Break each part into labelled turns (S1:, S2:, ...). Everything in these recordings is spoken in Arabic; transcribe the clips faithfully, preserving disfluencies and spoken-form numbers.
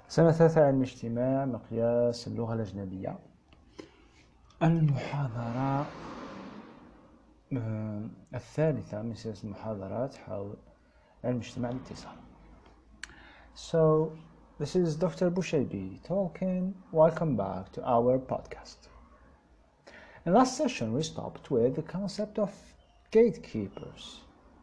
S1: سنة ثالثة علم اجتماع، مقياس اللغة الأجنبية. المحاضرة آه، الثالثة من سلسلة المحاضرات حول علم اجتماع الاتصال. So, this is Doctor Bushaybi talking. Welcome back to our podcast. In last session we stopped with the concept of gatekeepers,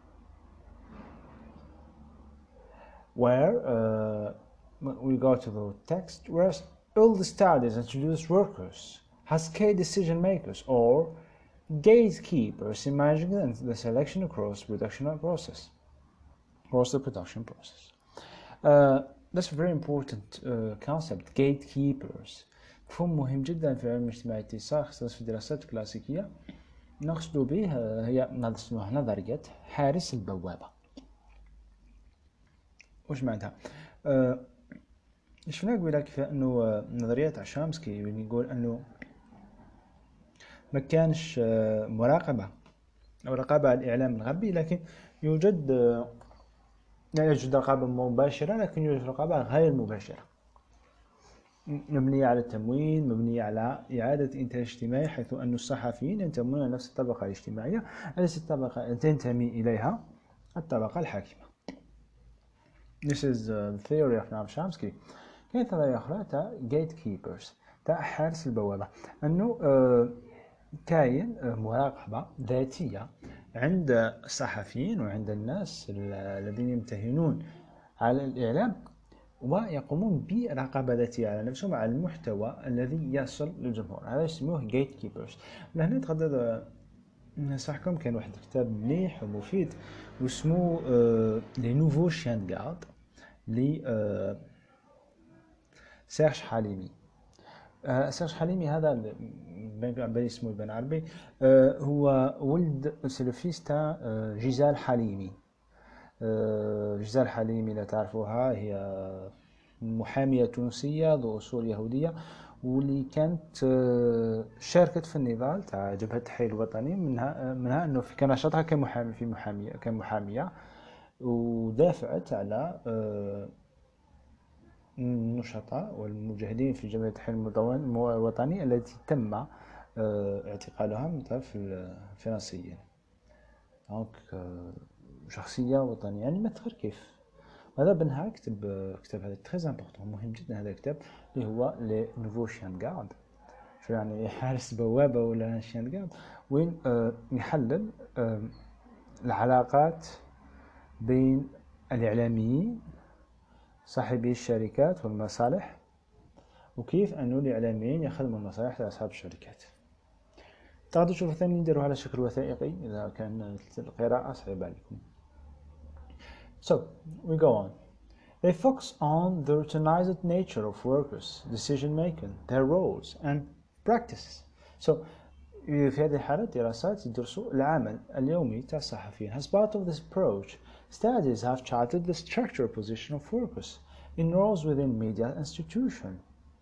S1: where uh, we go to the text where all the studies introduce workers as key decision makers or gatekeepers in managing the selection across production process, across the production process. Uh, that's a very important uh, concept, gatekeepers. مفهوم مهم جدا في علم الاجتماع الاتصال، خاصة في الدراسات الكلاسيكية. نقصد به هي نظرية حارس البوابة. وش معناتها؟ أه شفنا قبل كيف انه نظرية تاع شامسكي يقول انه ما كانش مراقبة او رقابة على الاعلام الغربي، لكن يوجد لا يوجد رقابة مباشرة، لكن يوجد رقابة غير مباشرة مبنية على التمويل، مبنية على إعادة إنتاج اجتماعي، حيث أن الصحفيين ينتمون إلى نفس الطبقة الاجتماعية التي الطبقة تنتمي إليها الطبقة الحاكمة. This is the theory of Noam Chomsky. كاين نظرية أخرى تاع gatekeepers، تاع حارس البوابة، أنه كاين مراقبة ذاتية عند الصحفيين وعند الناس الذين يمتهنون على الإعلام، ويقومون برقابة ذاتية على نفسهم على المحتوى الذي يصل للجمهور. هذا يسموه gatekeepers. لهنا تقدر ننصحكم، كان واحد الكتاب مليح ومفيد واسمه لي نوفو شيان غارد ل سيرج حليمي. سيرج حليمي هذا بين اسمه بن عربي، هو ولد سلفيس تاع جيزال حليمي. جيزال حليمي لا تعرفوها، هي محامية تونسية ذو أصول يهودية، واللي كانت شاركت في النضال تاع جبهة التحرير الوطني. منها منها أنه في كان نشاطها كمحامي في محامية كمحامية، ودافعت على النشطاء والمجاهدين في جبهة التحرير الوطني التي تم اعتقالها من طرف الفرنسيين. دونك شخصية وطنية، يعني ما تغير كيف. هذا بنها كتب كتاب هذا تري امبورطون، مهم جدا هذا الكتاب اللي هو لي نوفو شيان غارد، شو يعني حارس بوابة ولا شيان غارد، وين آه يحلل آه العلاقات بين الإعلاميين صاحبي الشركات والمصالح، وكيف أنه الإعلاميين يخدموا المصالح لأصحاب الشركات. تقدروا تشوفوا ثاني نديروا على شكل وثائقي إذا كان القراءة صعبة عليكم. So, we go on. They focus on the routinized nature of workers' decision-making, their roles and practices. So, في هذه الحالة دراسات يدرسوا العمل اليومي تاع الصحفيين. As part of this approach, studies have charted the structural position of workers in roles within media institution.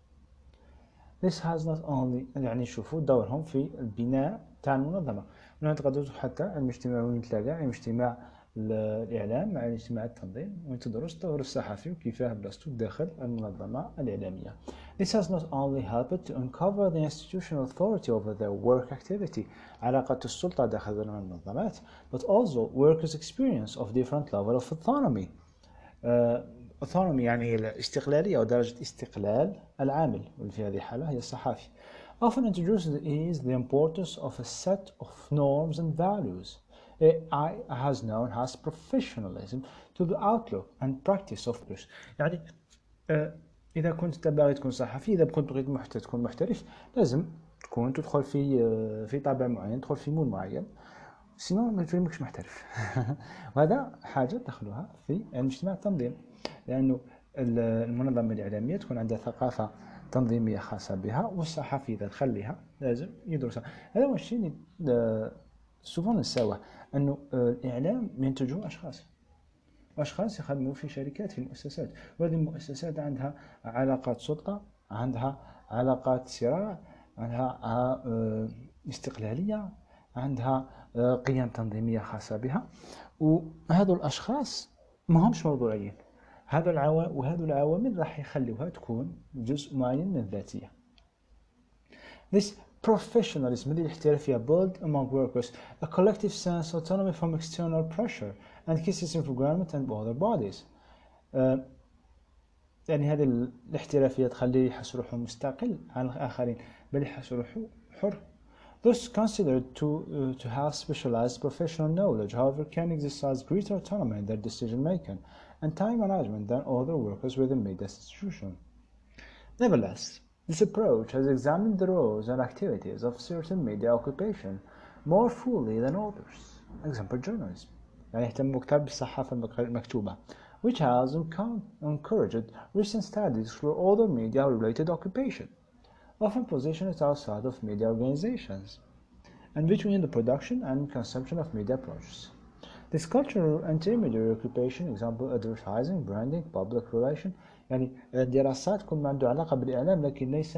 S1: This has not only يعني يشوفوا دورهم في البناء تاع المنظمة. هنا تقدروا حتى علم اجتماع ويتلاقى علم اجتماع الإعلام مع اجتماع التنظيم، وتدرس دور الصحفي وكيفاه بلاصتو داخل المنظمة الإعلامية. This has not only helped to uncover the institutional authority over their work activity، علاقة السلطة داخل المنظمات، but also workers' experience of different level of autonomy. uh, autonomy يعني الاستقلالية ودرجة استقلال العامل، واللي في هذه الحالة هي الصحافي. Often introduced is the importance of a set of norms and values. A I has known as professionalism to the outlook and practice of this. يعني آه إذا كنت باغي تكون صحفي، إذا كنت بغيت محت... تكون محترف، لازم تكون تدخل في آه في طابع معين، تدخل في مول معين، سينو ما تفهمكش محترف. وهذا حاجة دخلوها في علم اجتماع التنظيم، لأنه المنظمة الإعلامية تكون عندها ثقافة تنظيمية خاصة بها، والصحفي إذا تخليها لازم يدرسها. هذا هو الشيء اللي سوفون نساوه، أنه الإعلام ينتجه أشخاص أشخاص يخدموا في شركات، في مؤسسات، وهذه المؤسسات عندها علاقات سلطة، عندها علاقات صراع، عندها استقلالية، عندها قيم تنظيمية خاصة بها. وهذو الأشخاص ما همش موضوعيين، هذا العوامل وهذه العوامل راح يخلوها تكون جزء معين من الذاتية. This professionalism اللي الاحترافية build among workers a collective sense of autonomy from external pressure and criticism for government and other bodies. uh, يعني هذه الاحترافية تخليه يحس روحه مستقل عن الآخرين، بل يحس روحه حر. Those considered to, uh, to have specialized professional knowledge, however, can exercise greater autonomy in their decision making and time management than other workers within media institution. Nevertheless, this approach has examined the roles and activities of certain media occupation more fully than others. Example, journalism. يعني يهتم أكثر بالصحافة المكتوبة, which has encouraged recent studies for other media-related occupation, often positioned outside of media organizations, and between the production and consumption of media products. This cultural intermediary occupation, example advertising, branding, public relation، يعني دراسات كل ما عنده علاقة بالإعلام لكن ليس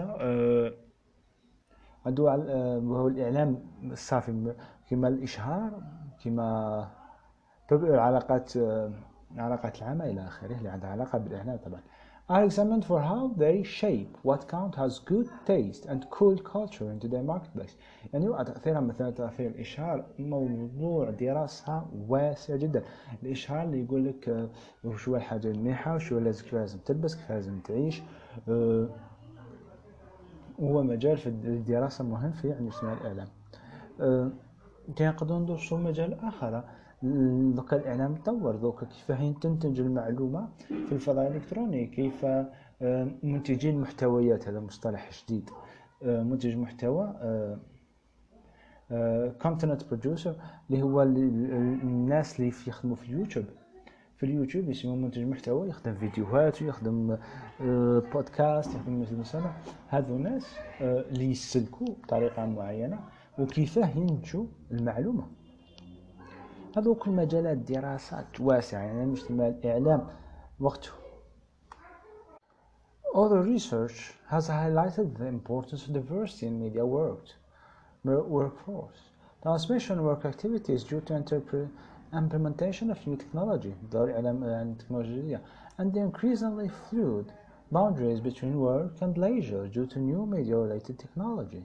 S1: عنده وهو الإعلام الصافي كما الإشهار، كما العلاقات علاقات العامة إلى آخره اللي عندها علاقة بالإعلام طبعا. are examined for how they shape what count as good taste and cool culture into their marketplace. يعني تأثيرها مثلا تأثير الإشهار موضوع دراسة واسع جدا. الإشهار اللي يقول لك وشو الحاجة المليحة وشو لازم لازم تلبس كيف لازم تعيش، وهو مجال في الدراسة مهم في يعني اسمه الإعلام. كان يقدرون ندرسوا مجال آخر. ذوك الإعلام تطور ذوك كيف تنتج المعلومة في الفضاء الإلكتروني، كيف منتجين محتويات، هذا مصطلح جديد، منتج محتوى content producer اللي هو الناس اللي يخدموا في اليوتيوب. في اليوتيوب يسمى منتج محتوى، يخدم فيديوهات ويخدم بودكاست، يخدم مثل مثلا هذو الناس اللي يسلكوا بطريقة معينة وكيفاه ينتجوا المعلومة. هذو كل مجالات دراسات واسعة، يعني مش الإعلام وقته. Other research has highlighted the importance of diversity in media worked, workforce. Transmission work activities due to implementation of new technology, دور الإعلام التكنولوجية, and the increasingly fluid boundaries between work and leisure due to new media-related technology.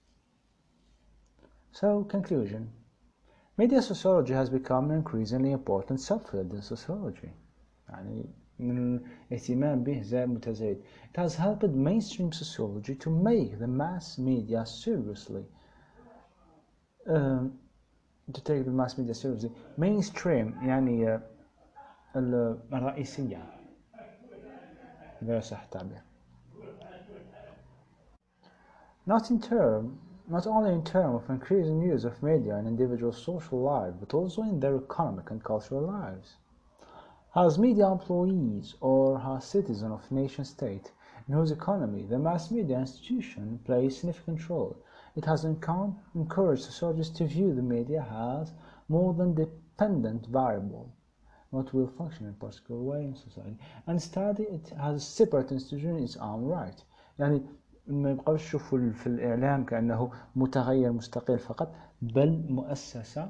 S1: So, conclusion. Media sociology has become an increasingly important subfield in sociology. يعني من الاهتمام به زاد متزايد. It has helped mainstream sociology to make the mass media seriously. Um, to take the mass media seriously. Mainstream يعني الرئيسية. إذا صح التعبير. Not in term, not only in terms of increasing use of media in individual social life, but also in their economic and cultural lives. As media employees or as citizens of nation-state, in whose economy the mass media institution plays a significant role, it has encouraged sociologists to view the media as more than dependent variable, not will function in a particular way in society, and study it as a separate institution in its own right. يعني ما يبقاوش يشوفوا في الإعلام كأنه متغير مستقل فقط، بل مؤسسة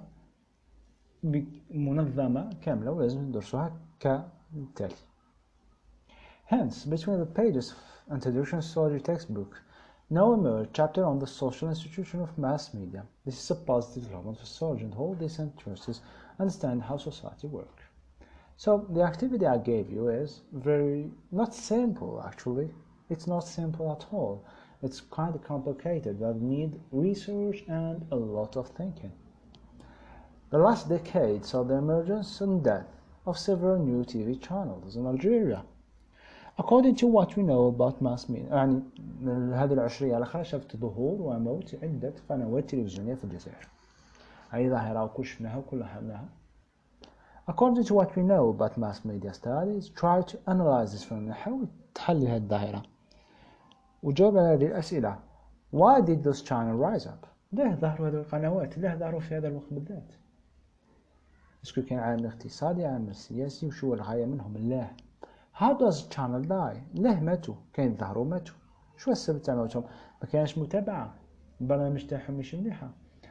S1: منظمة كاملة ولازم ندرسوها كالتالي. Hence, between the pages of Introduction to Sociology textbook, now emerge a chapter on the social institution of mass media. This is a positive development for sociology and hold these interests understand how society works. So the activity I gave you is very not simple actually. It's not simple at all. It's kind of complicated, but need research and a lot of thinking. The last decade saw the emergence and death of several new T V channels in Algeria. According to what we know about mass media، يعني هذه العشرية الأخيرة شفت ظهور وموت عدة قنوات تلفزيونية في الجزائر. هذه ظاهرة وكل شفناها وكلها حملناها. According to what we know about mass media studies, try to analyze this from نحاول تحلل هذه الظاهرة وجاوب على هذه الأسئلة. Why did those channels rise up؟ ليه ظهروا هذه القنوات؟ ليه ظهروا في هذا الوقت بالذات؟ اسكو كان عامل اقتصادي، عامل سياسي، وشو الغاية منهم؟ ليه؟ How does the channel die؟ ليه ماتوا؟ كاين ظهروا ماتوا. شو السبب تاع موتهم؟ ما كانش متابعة، البرنامج تاعهم مش مليحة.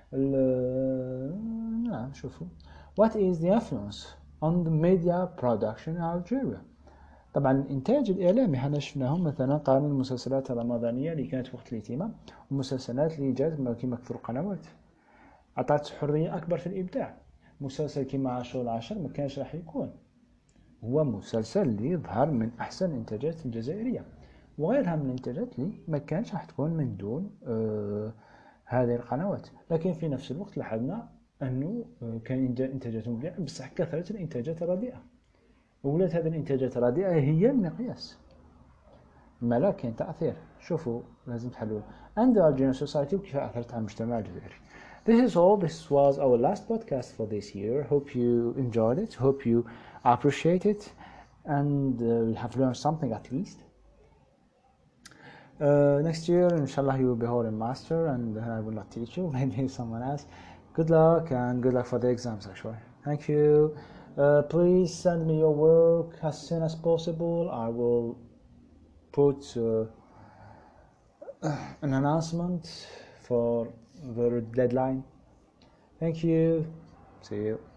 S1: نعم شوفوا. What is the influence on the media production in Algeria؟ طبعا الإنتاج الإعلامي حنا شفناهم مثلا قارن المسلسلات الرمضانية اللي كانت وقت الاهتمام والمسلسلات اللي جات كما كثر قنوات، عطات حرية أكبر في الإبداع. مسلسل كما عاشور العشر ما كانش راح يكون هو مسلسل اللي يظهر من أحسن الإنتاجات الجزائرية، وغيرها من الإنتاجات اللي ما كانش راح تكون من دون آه هذه القنوات. لكن في نفس الوقت لاحظنا أنه آه كان إنتاجات مبدعة، بصح كثرت الإنتاجات الرديئة، وولات هذه الإنتاجات الرديئة هي المقياس. ما لا كان تأثير، شوفوا لازم تحلوا and our general society وكيف أثرت على المجتمع الجزائري. This is all. This was our last podcast for this year. Hope you enjoyed it. Hope you appreciate it, and uh, you have learned something at least. Uh, next year, inshallah, you will be holding master, and I will not teach you. Maybe someone else. Good luck, and good luck for the exams. Actually, thank you. Uh, please send me your work as soon as possible. I will put uh, an announcement for the deadline. Thank you. See you.